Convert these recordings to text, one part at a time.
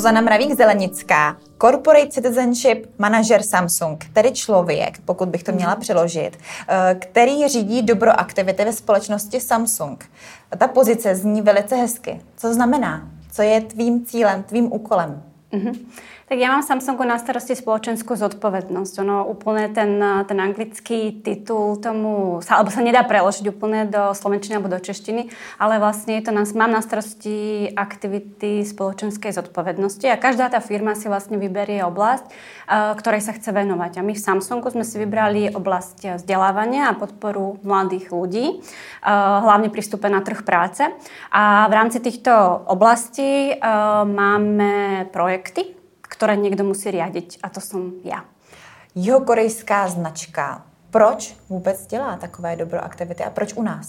Zuzana Mravík-Zelenická, Corporate Citizenship Manager Samsung, tedy člověk, pokud bych to měla přeložit, který řídí dobroaktivity ve společnosti Samsung. Ta pozice zní velice hezky. Co znamená? Co je tvým cílem, tvým úkolem? Tak ja mám v Samsungu na starosti spoločenskú zodpovednosť. Ono úplne ten anglický titul tomu, alebo sa nedá preložiť úplne do slovenčiny alebo do češtiny, ale vlastne je to mám na starosti aktivity spoločenskej zodpovednosti a každá tá firma si vlastne vyberie oblasť, ktorej sa chce venovať. A my v Samsungu sme si vybrali oblasť vzdelávania a podporu mladých ľudí, hlavne pri vstupe na trh práce. A v rámci týchto oblastí máme projekty, ktoré niekto musí riadiť, a to som ja. Jihokorejská značka. Proč vůbec dělá takové dobroaktivity a proč u nás?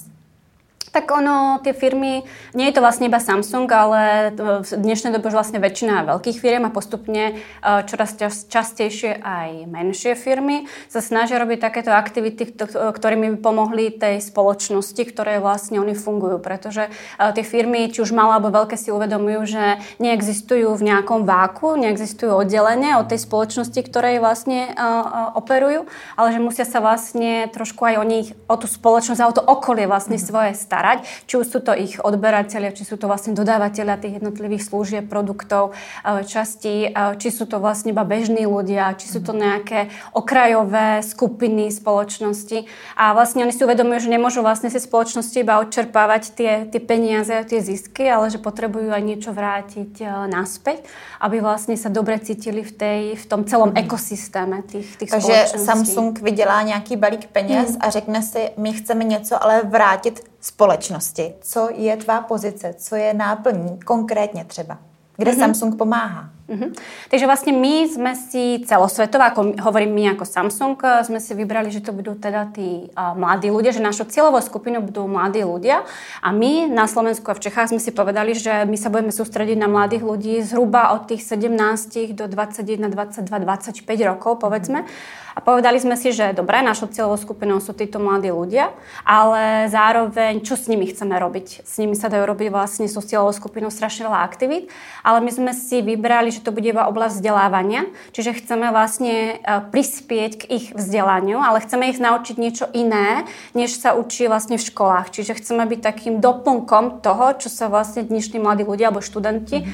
Tak ono, tie firmy, nie je to vlastne iba Samsung, ale v dnešnej dobe už vlastne väčšina veľkých firiem a postupne čoraz častejšie aj menšie firmy sa snažia robiť takéto aktivity, ktorými by pomohli tej spoločnosti, ktoré vlastne oni fungujú. Pretože tie firmy, či už malé alebo veľké, si uvedomujú, že neexistujú v nejakom váku, neexistujú oddelenie od tej spoločnosti, ktorej vlastne operujú, ale že musia sa vlastne trošku aj o tú spoločnosť a o to okolie vlastne svoje starať. Či už sú to ich odberatelia, či sú to vlastne dodávateľia tých jednotlivých služieb, produktov, častí, či sú to vlastne iba bežní ľudia, či sú to nejaké okrajové skupiny spoločnosti. A vlastne oni si uvedomujú, že nemôžu vlastne si spoločnosti iba odčerpávať tie peniaze a tie zisky, ale že potrebujú aj niečo vrátiť naspäť, aby vlastne sa dobre cítili v tom celom ekosystéme tých spoločností. Takže Samsung vydělá nějaký balík peněz a řekne si, my chceme něco ale vrátit společnosti. Co je tvá pozice? Co je náplní konkrétne třeba? Kde Samsung pomáha? Takže vlastne my sme si celosvetovo, ako hovorím my ako Samsung, sme si vybrali, že to budú teda tí mladí ľudia, že našou cieľovou skupinou budú mladí ľudia a my na Slovensku a v Čechách sme si povedali, že my sa budeme sústrediť na mladých ľudí zhruba od tých 17 do 21, 22, 25 rokov, povedzme. A povedali sme si, že dobre, našou cieľovou skupinou sú títo mladí ľudia, ale zároveň, čo s nimi chceme robiť? S nimi sa dajú robiť vlastne sú cieľovou skupinou strašne veľa aktivít, ale my sme si vybrali, že to bude iba oblasť vzdelávania, čiže chceme vlastne prispieť k ich vzdelaniu, ale chceme ich naučiť niečo iné, než sa učí vlastne v školách. Čiže chceme byť takým doplnkom toho, čo sa vlastne dnešní mladí ľudia alebo študenti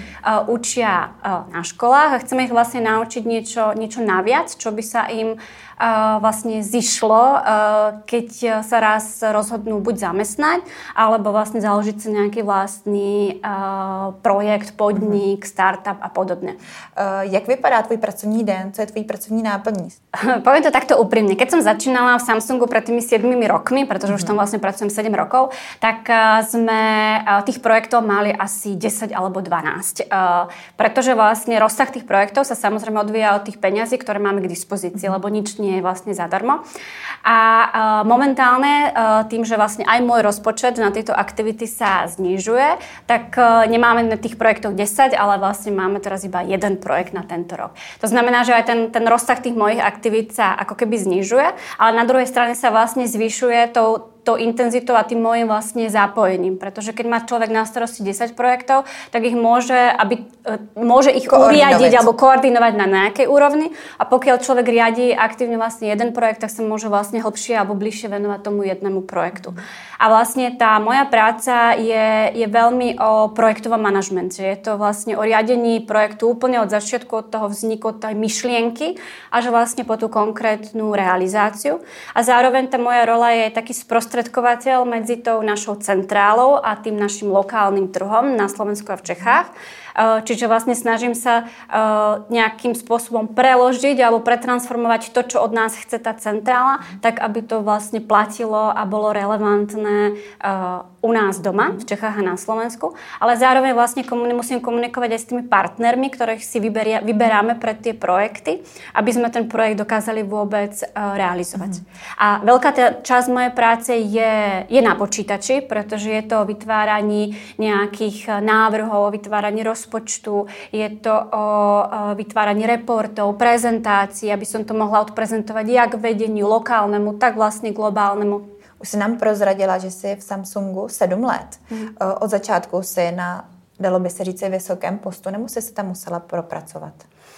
učia na školách a chceme ich vlastne naučiť niečo naviac, čo by sa im vlastne zišlo, keď sa raz rozhodnú buď zamestnať, alebo vlastne založiť si nejaký vlastný projekt, podnik, startup a podobne. Jak vypadá tvoj pracovní den? Co je tvoj pracovní náplní? Poviem to takto úprimne. Keď som začínala v Samsungu pred tými 7 rokmi, pretože už tam vlastne pracujem 7 rokov, tak sme tých projektov mali asi 10 alebo 12. Pretože vlastne rozsah tých projektov sa samozrejme odvíja od tých peňazí, ktoré máme k dispozícii, lebo nič nie je vlastne zadarmo. A momentálne tým, že vlastne aj môj rozpočet na tieto aktivity sa znižuje, tak nemáme na tých projektov 10, ale vlastne máme teraz iba jeden projekt na tento rok. To znamená, že aj ten rozsah tých mojich aktivít sa ako keby znižuje, ale na druhej strane sa vlastne zvyšuje tou intenzitou a tým môjim vlastne zapojením. Pretože keď má človek na starosti 10 projektov, tak ich môže ich uriadiť alebo koordinovať na nejakej úrovni a pokiaľ človek riadi aktívne vlastne jeden projekt, tak sa môže vlastne hlbšie alebo bližšie venovať tomu jednému projektu. A vlastne tá moja práca je veľmi o projektovom manažmente. Je to vlastne o riadení projektu úplne od začiatku, od toho vzniku, od tej myšlienky až vlastne po tú konkrétnu realizáciu. A zároveň tá moja rola je taký sprostredkovateľ medzi tou našou centrálou a tým našim lokálnym trhom na Slovensku a v Čechách. Čiže vlastne snažím sa nejakým spôsobom preložiť alebo pretransformovať to, čo od nás chce tá centrála, tak aby to vlastne platilo a bolo relevantné u nás doma, v Čechách a na Slovensku. Ale zároveň vlastne musím komunikovať aj s tými partnermi, ktorých si vyberáme pre tie projekty, aby sme ten projekt dokázali vôbec realizovať. A veľká časť mojej práce je na počítači, pretože je to o vytváraní nejakých návrhov, o vytváraní rozpočtu, je to o vytváraní reportov, prezentácií, aby som to mohla odprezentovať jak vedeniu lokálnemu, tak vlastne globálnemu. Už si nám prozradila, že jsi v Samsungu 7 let. Od začátku jsi na dalo by se říct, vysokém postu, nebo jsi se tam musela propracovat?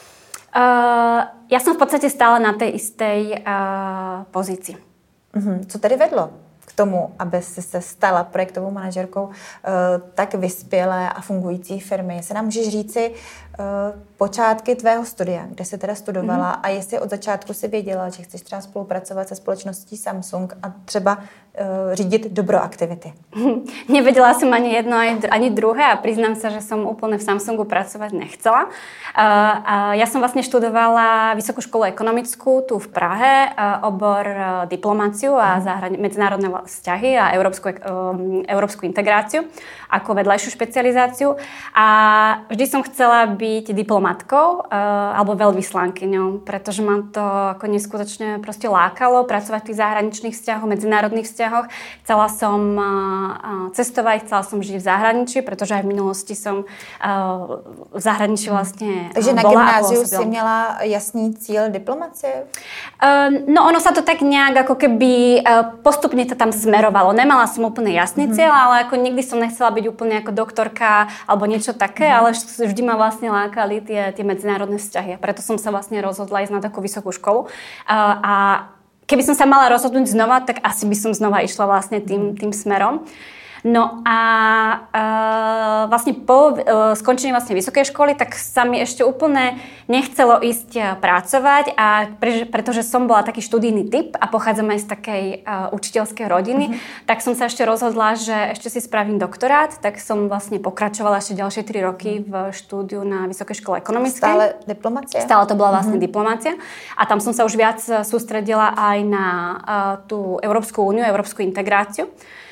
Ja som v podstate stále na tej istej pozícii. Co tedy vedlo k tomu, aby jsi se stala projektovou manažerkou tak vyspělé a fungující firmy? Jestli nám můžeš říci počátky tvého studia, kde jsi teda studovala a jestli od začátku si věděla, že chceš třeba spolupracovat se společností Samsung a třeba řídit dobroaktivity. Nevedela som ani jedno, ani druhé a priznám sa, že som úplne v Samsungu pracovať nechcela. Ja som vlastne študovala Vysokú školu ekonomickú tu v Prahe, obor diplomáciu a medzinárodné vzťahy a európsku integráciu ako vedľajšiu špecializáciu. A vždy som chcela byť diplomatkou alebo veľvyslankyňou, pretože ma to ako neskutočne proste lákalo pracovať v tých zahraničných vzťahoch, medzinárodných vzťahoch. Chcela som cestovať, chcela som žiť v zahraničí, pretože aj v minulosti som v zahraničí vlastne Takže bola. Takže na gymnáziu si měla jasný cíl diplomacie? No ono sa to tak nejak ako keby postupne to tam smerovalo. Nemala som úplne jasný cieľ, ale ako nikdy som nechcela byť úplne ako doktorka alebo niečo také, ale vždy ma vlastne lákali tie medzinárodné vzťahy. Preto som sa vlastne rozhodla ísť na takú vysokú školu. A keby som sa mala rozhodnúť znova, tak asi by som znova išla vlastne tým smerom. No a vlastne po skončení vlastne vysokej školy, tak sa mi ešte úplne nechcelo ísť pracovať, a pretože som bola taký študijný typ a pochádzam aj z takej učiteľskej rodiny, tak som sa ešte rozhodla, že ešte si spravím doktorát, tak som vlastne pokračovala ešte ďalšie 3 roky v štúdiu na Vysokej škole ekonomickej. Stále diplomácia? Stále to bola vlastne diplomácia a tam som sa už viac sústredila aj na tú Európsku úniu, európsku integráciu.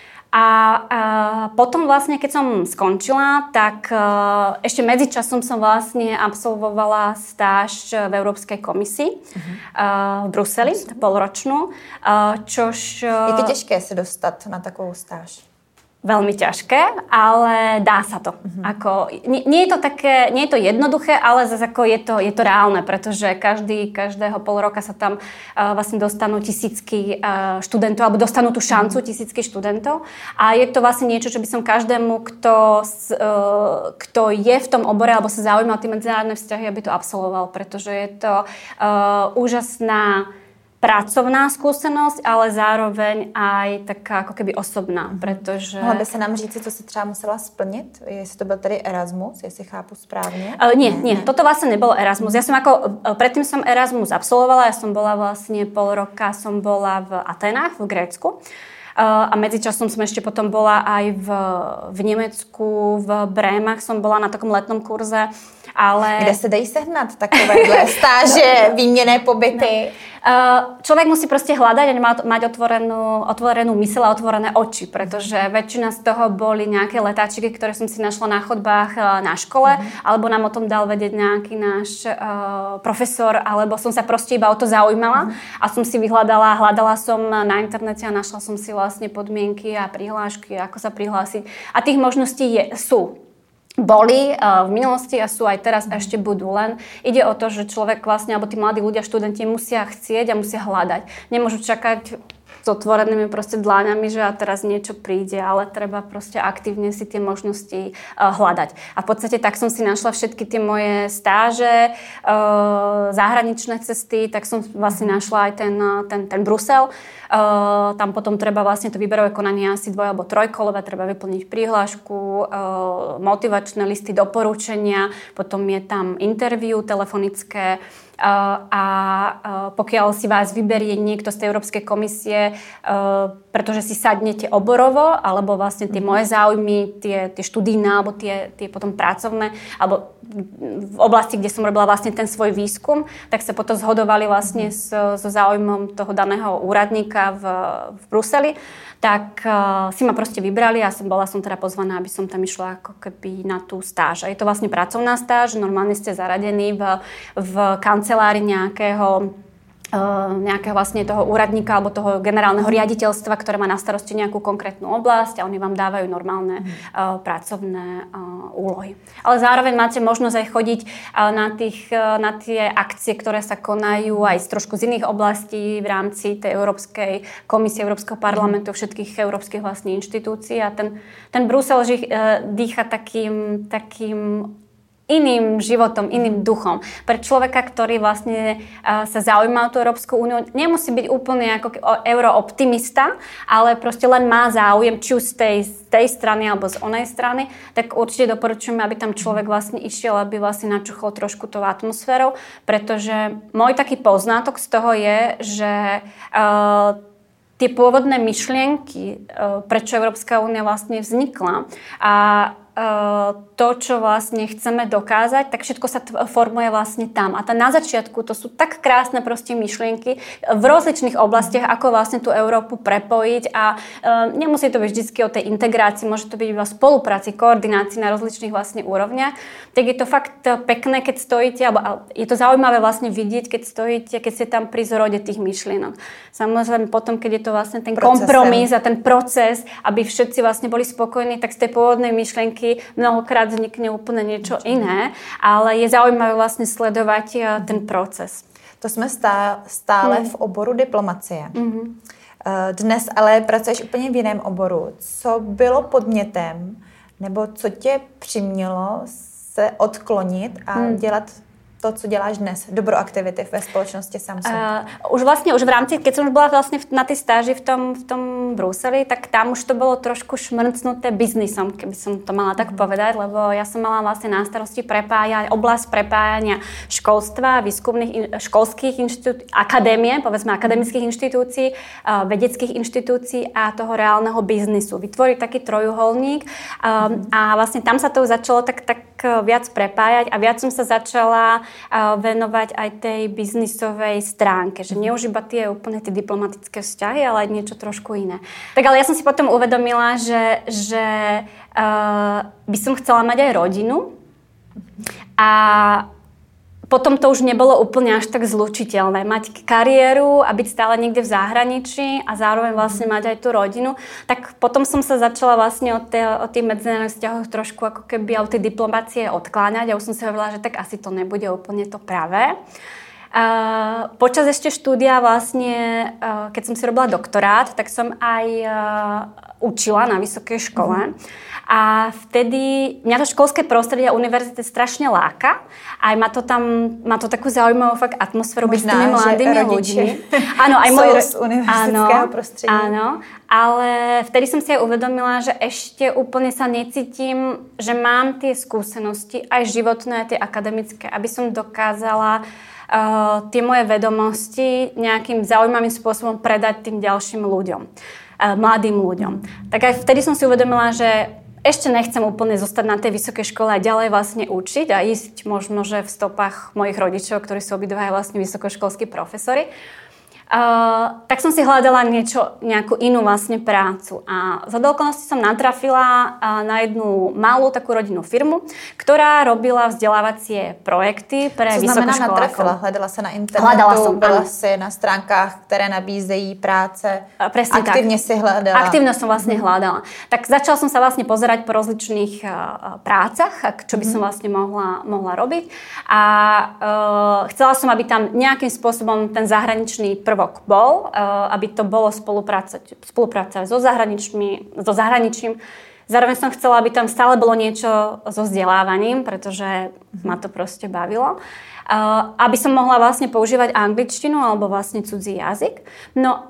A potom vlastne, keď som skončila, tak ešte medzičasom som vlastne absolvovala stáž v Európskej komisii v Bruseli, polročnú, čož... Jak je těžké se dostat na takovou stáž? Veľmi ťažké, ale dá sa to. Ako, nie je to také, nie je to jednoduché, ale zase ako je to reálne, pretože každého pol roka sa tam vlastne dostanú tisícky študentov, alebo dostanú tú šancu tisícky študentov. A je to vlastne niečo, čo by som každému, kto je v tom obore alebo sa zaujíma o tie medzinárodné vzťahy, aby to absolvoval, pretože je to úžasná pracovná skúsenosť, ale zároveň aj taká ako keby osobná, pretože... Mohla by se nám říct, co si třeba musela splnit? Jestli to byl tedy Erasmus, jestli chápu správne? Nie, toto vlastne nebol Erasmus. Ja som predtým som Erasmus absolvovala, ja som bola vlastne pol roka som bola v Atenách, v Grécku. A medzičasom som ešte potom bola aj v Nemecku, v Brémach som bola na takom letnom kurze, ale... Kde se dají sehnat takovéhle stáže, výměnné pobyty? Človek musí proste hľadať a mať otvorenú myseľ a otvorené oči, pretože väčšina z toho boli nejaké letáčiky, ktoré som si našla na chodbách na škole, alebo nám o tom dal vedieť nejaký náš profesor, alebo som sa proste iba o to zaujímala a som si hľadala som na internete a našla som si vlastne podmienky a prihlášky, ako sa prihlásiť. A tých možností boli v minulosti a sú aj teraz a ešte budú. Len ide o to, že človek vlastne, alebo tí mladí ľudia, študenti musia chcieť a musia hľadať. Nemôžu čakať s otvorenými proste dláňami, že a teraz niečo príde, ale treba proste aktívne si tie možnosti hľadať. A v podstate tak som si našla všetky tie moje stáže, zahraničné cesty, tak som vlastne našla aj ten Brusel. Tam potom treba vlastne to výberové konanie asi 2 alebo 3-kolové, treba vyplniť prihlášku, motivačné listy, doporučenia, potom je tam interview telefonické, a pokiaľ si vás vyberie niekto z tej Európskej komisie, pretože si sadnete oborovo, alebo vlastne tie moje záujmy, tie študijné, alebo tie potom pracovné, alebo v oblasti, kde som robila vlastne ten svoj výskum, tak sa potom zhodovali vlastne so záujmom toho daného úradníka v Bruseli, tak si ma proste vybrali a bola som teda pozvaná, aby som tam išla ako keby na tú stáž. A je to vlastne pracovná stáž, normálne ste zaradení v kancelárii nejakého nejakého vlastne toho úradníka alebo toho generálneho riaditeľstva, ktoré má na starosti nejakú konkrétnu oblasť a oni vám dávajú normálne pracovné úlohy. Ale zároveň máte možnosť aj chodiť na tie akcie, ktoré sa konajú aj trošku z iných oblastí v rámci tej Európskej komisie, Európskeho parlamentu, všetkých európskych vlastne inštitúcií a ten Brusel dýcha takým iným životom, iným duchom. Pre človeka, ktorý vlastne sa zaujíma o tú Európsku úniu, nemusí byť úplne ako eurooptimista, ale proste len má záujem, či už z tej strany alebo z onej strany, tak určite doporučujeme, aby tam človek vlastne išiel, aby vlastne načuchol trošku tou atmosférou, pretože môj taký poznatok z toho je, že tie pôvodné myšlienky, prečo Európska únia vlastne vznikla a to, čo vlastne chceme dokázať, tak všetko sa formuje vlastne tam. A na začiatku to sú tak krásne proste myšlienky v rozličných oblastiach, ako vlastne tú Európu prepojiť a nemusí to byť vždy o tej integrácii, môže to byť iba spolupráci, koordinácii na rozličných vlastne úrovniach. Tak je to fakt pekné, keď stojíte, alebo je to zaujímavé vlastne vidieť, keď ste tam pri zrode tých myšlienok. Samozrejme potom, keď je to vlastne ten kompromis a ten proces, aby všetci vlastne boli spokojní, tak z tej pôvodnej myšlienky mnohokrát vznikne úplne niečo iné, ale je zaujímavé vlastne sledovať ten proces. To jsme stále v oboru diplomacie. Dnes ale pracuješ úplně v jiném oboru. Co bylo podnětem, nebo co tě přimělo se odklonit a dělat to, co děláš dnes, dobroaktivity ve spoločnosti Samsung? Už v rámci, keď som už bola vlastne na tej stáži v tom Bruseli, tak tam už to bolo trošku šmrcnuté biznisom, keby som to mala tak povedať, lebo ja som mala vlastne na starosti oblasť prepájania školstva, školských inštitúcií, akadémie, povedzme akademických inštitúcií, vedeckých inštitúcií a toho reálneho biznisu. Vytvoriť taký trojuholník a vlastne tam sa to začalo tak viac prepájať a viac som sa začala venovať aj tej biznisovej stránke, že nie už iba tie úplne tie diplomatické vzťahy, ale aj niečo trošku iné. Tak ale ja som si potom uvedomila, že by som chcela mať aj rodinu a potom to už nebolo úplne až tak zlučiteľné. Mať kariéru a byť stále niekde v zahraničí a zároveň vlastne mať aj tú rodinu. Tak potom som sa začala vlastne od tých medzinárodných vzťahov trošku ako keby od tej diplomácie odkláňať a už som si hovorila, že tak asi to nebude úplne to pravé. Počas ešte štúdia vlastne, keď som si robila doktorát, tak som aj učila na vysokej škole. A vtedy mňa to školské prostredie a univerzity strašne láka. Aj má to takú zaujímavú fakt atmosféru byť s tými mladými ľuďmi. Áno, aj môj z univerzitského prostredia. Áno, ale vtedy som si aj uvedomila, že ešte úplne sa necítim, že mám tie skúsenosti, aj životné, aj tie akademické, aby som dokázala tie moje vedomosti nejakým zaujímavým spôsobom predať tým ďalším ľuďom, mladým ľuďom. Tak aj vtedy som si uvedomila, že ešte nechcem úplne zostať na tej vysokej škole a ďalej vlastne učiť a ísť možno, že v stopách mojich rodičov, ktorí sú obidvaja vlastne vysokoškolskí profesori. Tak som si hľadala nejakú inú vlastne prácu. A za okolností som natrafila na jednu malú takú rodinnú firmu, ktorá robila vzdelávacie projekty pre vysokoškolákov. Co znamená natrafila? Hledala se na internetu, byla si na stránkách, které nabízejí práce. Presne Aktívne si hľadala. Aktívne som vlastne hľadala. Tak začala som sa vlastne pozerať po rozličných prácach, čo by som vlastne mohla robiť. A chcela som, aby tam nejakým spôsobom ten zahraničný prvok bol, aby to bolo spolupráca so zahraničím. Zároveň som chcela, aby tam stále bolo niečo so vzdelávaním, pretože ma to proste bavilo. Aby som mohla vlastne používať angličtinu alebo vlastne cudzí jazyk. No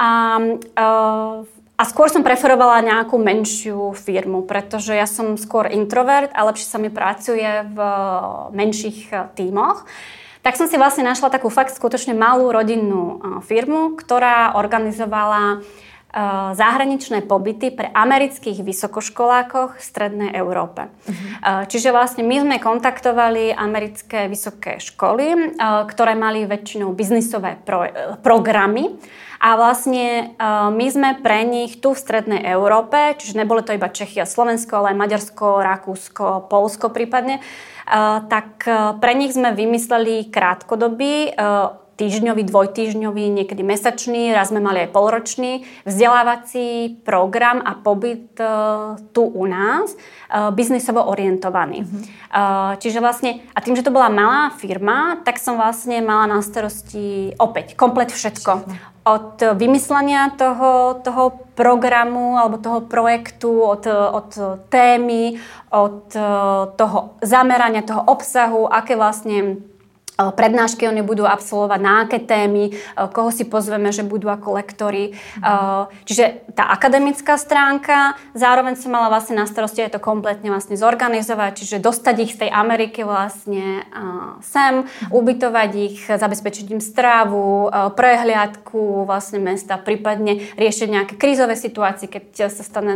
a skôr som preferovala nejakú menšiu firmu, pretože ja som skôr introvert a lepšie sa mi pracuje v menších tímoch. Tak som si vlastne našla takú fakt skutočne malú rodinnú firmu, ktorá organizovala zahraničné pobyty pre amerických vysokoškolákoch v Strednej Európe. Čiže vlastne my sme kontaktovali americké vysoké školy, ktoré mali väčšinou biznisové programy a vlastne my sme pre nich tu v Strednej Európe, čiže nebolo to iba Čechy a Slovensko, ale aj Maďarsko, Rakúsko, Poľsko prípadne, tak pre nich sme vymysleli krátkodobý týždňový, dvojtýždňový, niekedy mesačný, raz sme mali aj polročný vzdelávací program a pobyt tu u nás, biznisovo orientovaný. Čiže vlastne, a tým, že to bola malá firma, tak som vlastne mala na starosti opäť komplet všetko. Od vymyslenia toho programu alebo toho projektu, od témy, od toho zamerania, toho obsahu, aké vlastne prednášky oni budú absolvovať, na aké témy, koho si pozveme, že budú ako lektori. Čiže tá akademická stránka, zároveň som mala vlastne na starosti aj to kompletne vlastne zorganizovať, čiže dostať ich z tej Ameriky vlastne sem, ubytovať ich, zabezpečiť im strávu, prehliadku vlastne mesta, prípadne riešiť nejaké krízové situácie, keď sa stane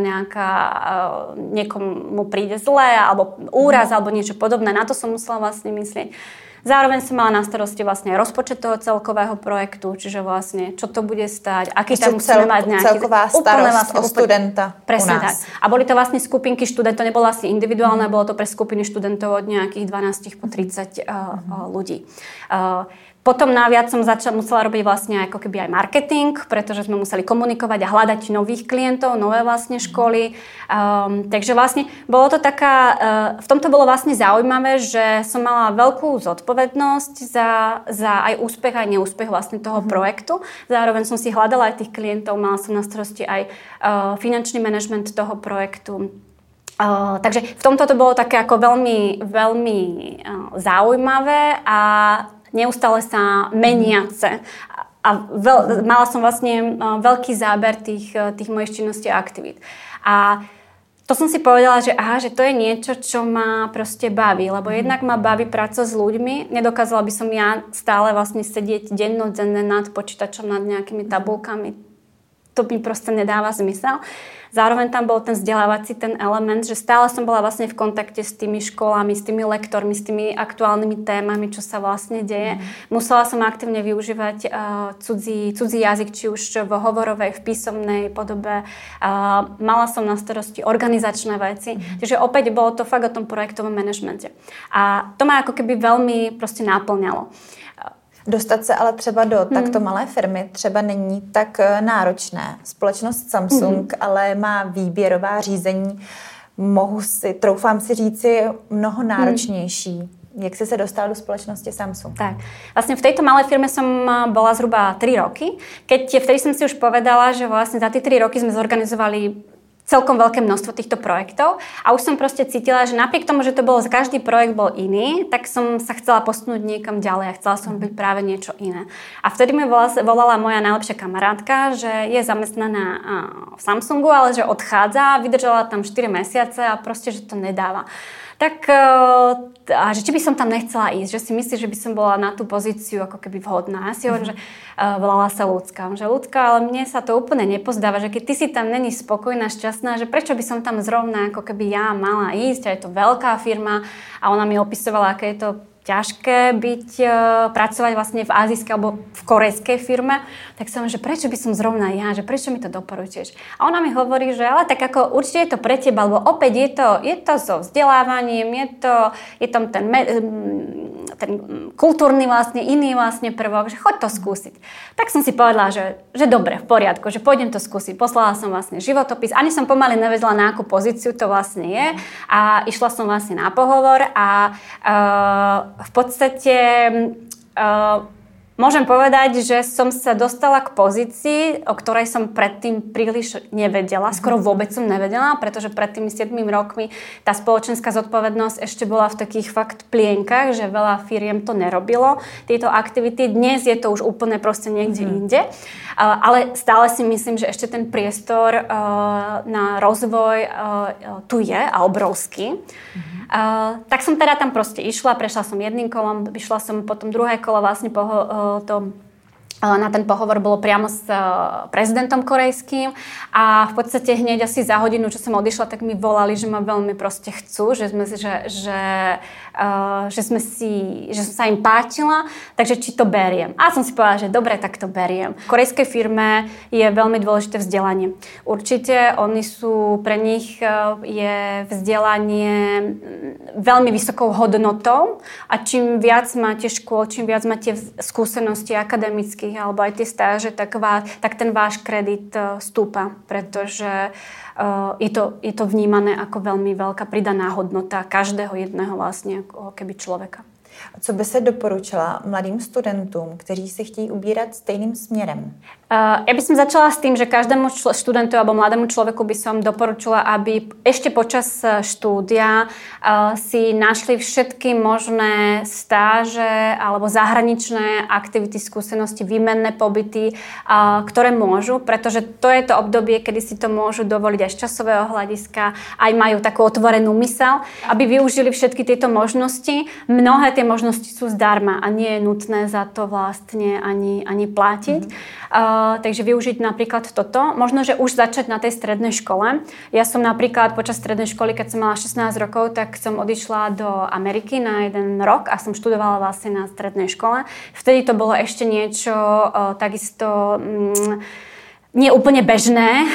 niekomu príde zlé, alebo úraz, alebo niečo podobné. Na to som musela vlastne myslieť. Zároveň som mala na starosti vlastne rozpočet toho celkového projektu, čiže vlastne čo to bude stáť, aký tam musíme mať nejaký... Celková starost vlastne, o studenta presne u nás. Tak. A boli to vlastne skupinky študentov, nebolo vlastne individuálne, bolo to pre skupiny študentov od nejakých 12 po 30 ľudí. Potom naviac som musela robiť vlastne ako keby aj marketing, pretože sme museli komunikovať a hľadať nových klientov, nové vlastne školy. Takže vlastne bolo to taká, v tomto bolo vlastne zaujímavé, že som mala veľkú zodpovednosť za aj úspech, aj neúspech vlastne toho projektu. Zároveň som si hľadala aj tých klientov, mala som na starosti aj finančný manažment toho projektu. Takže v tomto to bolo také ako veľmi, veľmi zaujímavé a neustále sa meniace. A mala som vlastne veľký záber tých mojich činností a aktivít. A to som si povedala, že že to je niečo, čo ma proste baví, lebo jednak ma baví práca s ľuďmi. Nedokázala by som ja stále vlastne sedieť dennodenne nad počítačom, nad nejakými tabulkami. To mi proste nedáva zmysel. Zároveň tam bol ten vzdelávací ten element, že stále som bola vlastne v kontakte s tými školami, s tými lektormi, s tými aktuálnymi témami, čo sa vlastne deje. Musela som aktívne využívať cudzí jazyk, či už v hovorovej, v písomnej podobe. Mala som na starosti organizačné veci. Takže opäť bolo to fakt o tom projektovom manažmente. A to ma ako keby veľmi proste náplňalo. Dostat se ale třeba do takto malé firmy třeba není tak náročné. Společnost Samsung ale má výběrová řízení, troufám si říci, mnoho náročnější. Jak si se dostala do spoločnosti Samsung? Tak, vlastne v tejto malej firme som bola zhruba 3 roky. Vtedy som si už povedala, že vlastne za tie 3 roky sme zorganizovali celkom veľké množstvo týchto projektov a už som proste cítila, že napriek tomu, že to bolo, každý projekt bol iný, tak som sa chcela posunúť niekam ďalej a chcela som byť práve niečo iné. A vtedy mi volala moja najlepšia kamarátka, že je zamestnaná v Samsungu, ale že odchádza, vydržala tam 4 mesiace a proste, že to nedáva. Tak, a že či by som tam nechcela ísť, že si myslí, že by som bola na tú pozíciu ako keby vhodná. Ja si hovorím, že volala sa Ľudská. Že Ľudská, ale mne sa to úplne nepozdáva, že keď ty si tam není spokojná, šťastná, že prečo by som tam zrovna ako keby ja mala ísť, a je to veľká firma a ona mi opisovala, aké je to ťažké pracovať vlastne v azijskej alebo v korejskej firme, tak som, že prečo by som zrovna ja, že prečo mi to doporučuješ? A ona mi hovorí, že ale tak ako určite je to pre teba, lebo opäť je to so vzdelávaním, je tam ten kultúrny vlastne, iný vlastne prvok, že choď to skúsiť. Tak som si povedala, že dobre, v poriadku, že pôjdem to skúsiť. Poslala som vlastne životopis, ani som pomaly nevedela, na akú pozíciu to vlastne je a išla som vlastne na pohovor a v podstate môžem povedať, že som sa dostala k pozícii, o ktorej som predtým príliš nevedela. Skoro vôbec som nevedela, pretože pred tými 7 rokmi tá spoločenská zodpovednosť ešte bola v takých fakt plienkach, že veľa firiem to nerobilo, tieto aktivity. Dnes je to už úplne proste niekde inde. Ale stále si myslím, že ešte ten priestor na rozvoj tu je a obrovský. Tak som teda tam proste išla, prešla som jedným kolom, išla som potom druhé kolo vlastne po na ten pohovor bolo priamo s prezidentom korejským a v podstate hneď asi za hodinu, čo som odišla, tak mi volali, že ma veľmi proste chcú, že som sa im páčila, takže či to beriem. A som si povedala, že dobre, tak to beriem. V korejskej firme je veľmi dôležité vzdelanie. Určite pre nich je vzdelanie veľmi vysokou hodnotou a čím viac máte škôl, čím viac máte skúsenosti akademických alebo aj tie stáže, tak ten váš kredit stúpa, pretože je to vnímané ako veľmi veľká pridaná hodnota každého jedného vlastne ako keby človeka. A co by se doporučila mladým studentům, kteří se chtějí ubírat stejným směrem? Ja by som začala s tým, že každému študentu alebo mladému človeku by som doporučila, aby ešte počas štúdia si našli všetky možné stáže alebo zahraničné aktivity, skúsenosti, výmenné pobyty, ktoré môžu, pretože to je to obdobie, kedy si to môžu dovoliť aj z časového hľadiska, aj majú takú otvorenú mysel, aby využili všetky tieto možnosti. Mnohé tie možnosti sú zdarma a nie je nutné za to vlastne ani platiť. Takže využiť napríklad toto. Možno, že už začať na tej strednej škole. Ja som napríklad počas strednej školy, keď som mala 16 rokov, tak som odišla do Ameriky na 1 rok a som študovala vlastne na strednej škole. Vtedy to bolo ešte niečo takisto nie úplne bežné.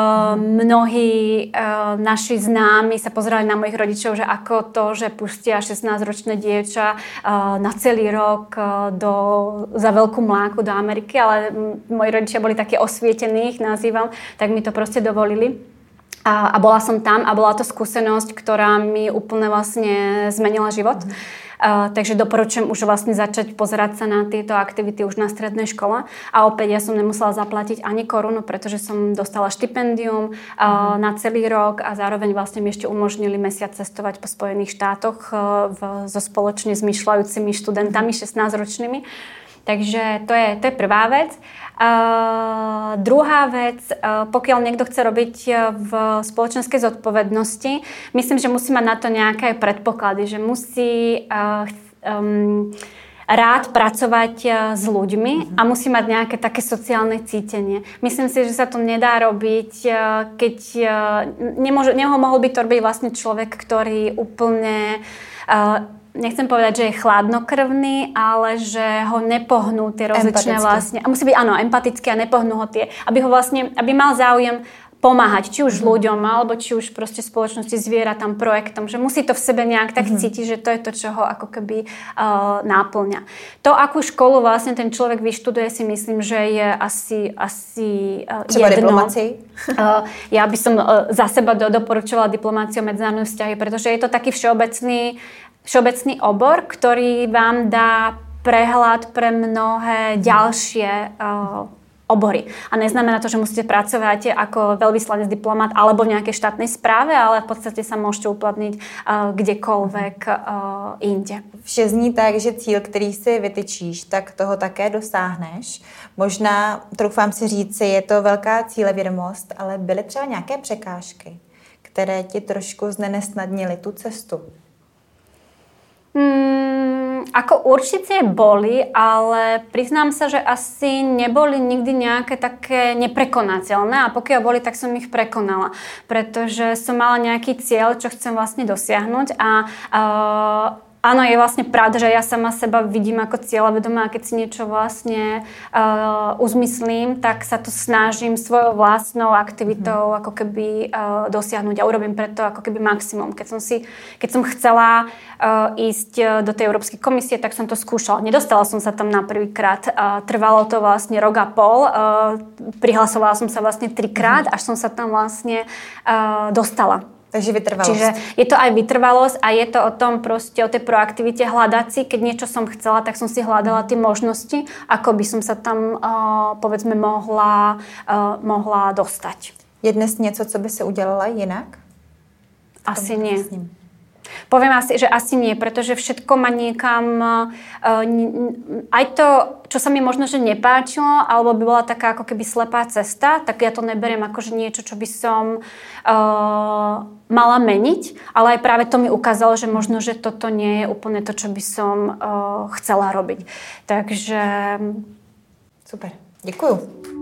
Mnohí naši známi sa pozerali na mojich rodičov, že ako to, že pustia 16-ročné dievča na celý rok za veľkú mláku do Ameriky, ale moji rodičia boli také osvietení, ich nazývam, tak mi to proste dovolili. A bola som tam a bola to skúsenosť, ktorá mi úplne vlastne zmenila život. Takže doporučujem už vlastne začať pozerať sa na tieto aktivity už na strednej škole. A opäť ja som nemusela zaplatiť ani korunu, pretože som dostala štipendium na celý rok a zároveň vlastne mi ešte umožnili mesiac cestovať po Spojených štátoch so spoločne zmyšľajúcimi študentami 16-ročnými. Takže to je prvá vec. Druhá vec, pokiaľ niekto chce robiť v spoločenskej zodpovednosti, myslím, že musí mať na to nejaké predpoklady, že musí rád pracovať s ľuďmi a musí mať nejaké také sociálne cítenie. Myslím si, že sa to nedá robiť, keď mohol by to robiť vlastne človek, ktorý úplne nechcem povedať, že je chladnokrvný, ale že ho nepohnú tie rozličné vlastne. A musí byť empatický a nepohnú ho tie, aby mal záujem pomáhať, či už ľuďom, alebo či už proste spoločnosti, zvieratám, projektom, že musí to v sebe nejak tak cítiť, že to je to, čo ho ako keby náplňa. To, akú školu vlastne ten človek vyštuduje, si myslím, že je asi třeba jedno. diplomácii? Ja by som za seba doporučovala diplomáciu a medzinárodné vzťahy, pretože je to taký všeobecný obor, ktorý vám dá prehľad pre mnohé ďalšie obory. A neznamená to, že musíte pracovať ako veľvyslanec, diplomat alebo v nejakej štátnej správe, ale v podstate sa môžete uplatniť kdekoľvek inde. Vše zní tak, že cíl, který si vytyčíš, tak toho také dosáhneš. Možná, troufám si říci, je to velká cílevědomost, ale byly třeba nějaké překážky, které ti trošku znenesnadnily tu cestu? Ako určite boli, ale priznám sa, že asi neboli nikdy nejaké také neprekonateľné a pokiaľ boli, tak som ich prekonala, pretože som mala nejaký cieľ, čo chcem vlastne dosiahnuť a áno, je vlastne pravda, že ja sama seba vidím ako cieľavedomá a keď si niečo vlastne uzmyslím, tak sa to snažím svojou vlastnou aktivitou ako keby dosiahnuť a urobím preto ako keby maximum. Keď som chcela ísť do tej Európskej komisie, tak som to skúšala. Nedostala som sa tam na prvýkrát. Trvalo to vlastne rok a pol. Prihlasovala som sa vlastne 3-krát, až som sa tam vlastne dostala. Takže vytrvalosť. Čiže je to aj vytrvalosť a je to o tom proste, o tej proaktivite hľadať si. Keď niečo som chcela, tak som si hľadala tie možnosti, ako by som sa tam, povedzme, mohla dostať. Je dnes něco, co by si udělala jinak? Asi nie. Poviem asi, že asi nie, pretože všetko ma niekam, aj to, čo sa mi možno, že nepáčilo, alebo by bola taká ako keby slepá cesta, tak ja to neberiem ako, že niečo, čo by som mala meniť, ale aj práve to mi ukázalo, že možno, že toto nie je úplne to, čo by som chcela robiť. Takže Super, děkuju.